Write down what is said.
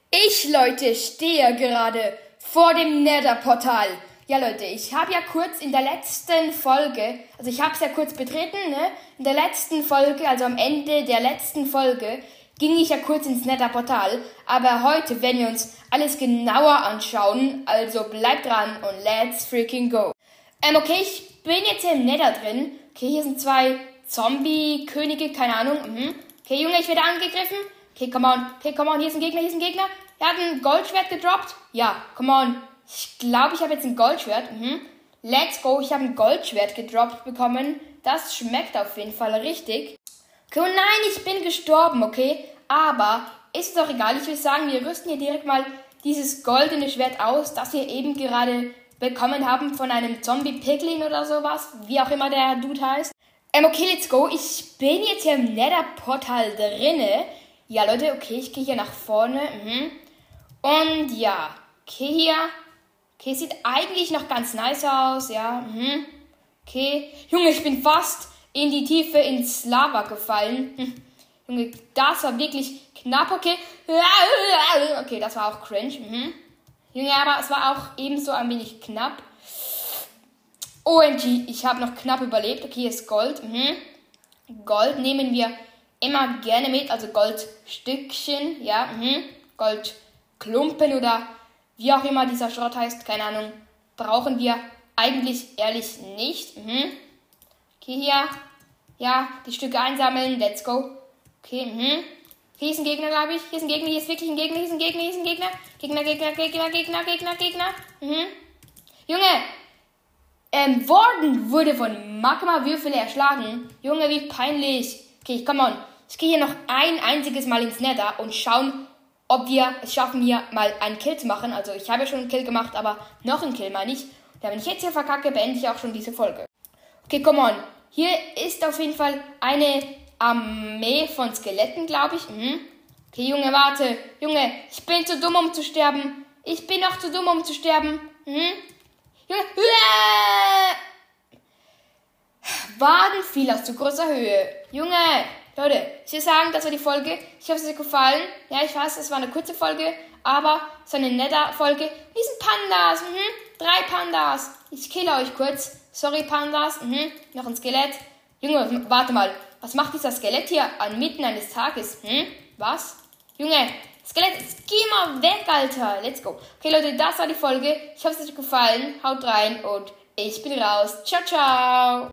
Leute, stehe gerade vor dem Nether-Portal. Ja, Leute, ich habe ja kurz in der letzten Folge, also ich habe es ja kurz betreten, ne? In der letzten Folge, also am Ende der letzten Folge, ging ich ja kurz ins Nether-Portal. Aber heute werden wir uns alles genauer anschauen, also bleibt dran und let's freaking go. Okay, ich bin jetzt hier im Nether drin. Okay, hier sind zwei Zombie-Könige, keine Ahnung. Okay, Junge, ich werde angegriffen. Okay, come on, hier ist ein Gegner. Er hat ein Goldschwert gedroppt. Ja, come on. Ich glaube, ich habe jetzt ein Goldschwert. Let's go, ich habe ein Goldschwert gedroppt bekommen. Das schmeckt auf jeden Fall richtig. Okay, oh nein, ich bin gestorben, okay? Aber ist es doch egal. Ich würde sagen, wir rüsten hier direkt mal dieses goldene Schwert aus, das wir eben gerade bekommen haben von einem Zombie-Piglin oder sowas. Wie auch immer der Dude heißt. Okay, let's go. Ich bin jetzt hier im Nether-Portal drinne. Ja, Leute, okay, ich gehe hier nach vorne. Und ja, okay, hier. Okay, sieht eigentlich noch ganz nice aus, ja. Okay, Junge, ich bin fast in die Tiefe ins Lava gefallen. Junge, das war wirklich knapp, okay. Okay, das war auch cringe. Junge, aber es war auch ebenso ein wenig knapp. OMG, ich habe noch knapp überlebt. Okay, hier ist Gold. Gold nehmen wir immer gerne mit, also Goldstückchen, ja. Goldklumpen oder wie auch immer dieser Schrott heißt, keine Ahnung, brauchen wir eigentlich ehrlich nicht. Okay, hier, ja, die Stücke einsammeln, let's go. Okay, hier ist ein Gegner, glaube ich. Hier ist ein Gegner, hier ist wirklich ein Gegner, hier ist ein Gegner, hier ist ein Gegner. Gegner. Junge, Warden wurde von Magma-Würfel erschlagen. Junge, wie peinlich. Okay, come on. Ich gehe hier noch ein einziges Mal ins Nether und schauen, ob wir es schaffen, hier mal einen Kill zu machen. Also ich habe ja schon einen Kill gemacht, aber noch einen Kill meine ich. Da wenn ich jetzt hier verkacke, beende ich auch schon diese Folge. Okay, come on. Hier ist auf jeden Fall eine Armee von Skeletten, glaube ich. Okay, Junge, warte. Junge, ich bin zu dumm, um zu sterben. Ich bin noch zu dumm, um zu sterben. Junge, Waden fiel aus zu großer Höhe. Junge, Leute, ich will sagen, das war die Folge. Ich hoffe, es hat euch gefallen. Ja, ich weiß, es war eine kurze Folge, aber es war eine Nether-Folge. Die sind Pandas. 3 Pandas. Ich kille euch kurz. Sorry, Pandas. Noch ein Skelett. Junge, warte mal. Was macht dieser Skelett hier mitten eines Tages? Was? Junge, Skelett, geh mal weg, Alter. Let's go. Okay, Leute, das war die Folge. Ich hoffe, es hat euch gefallen. Haut rein und ich bin raus. Ciao, ciao.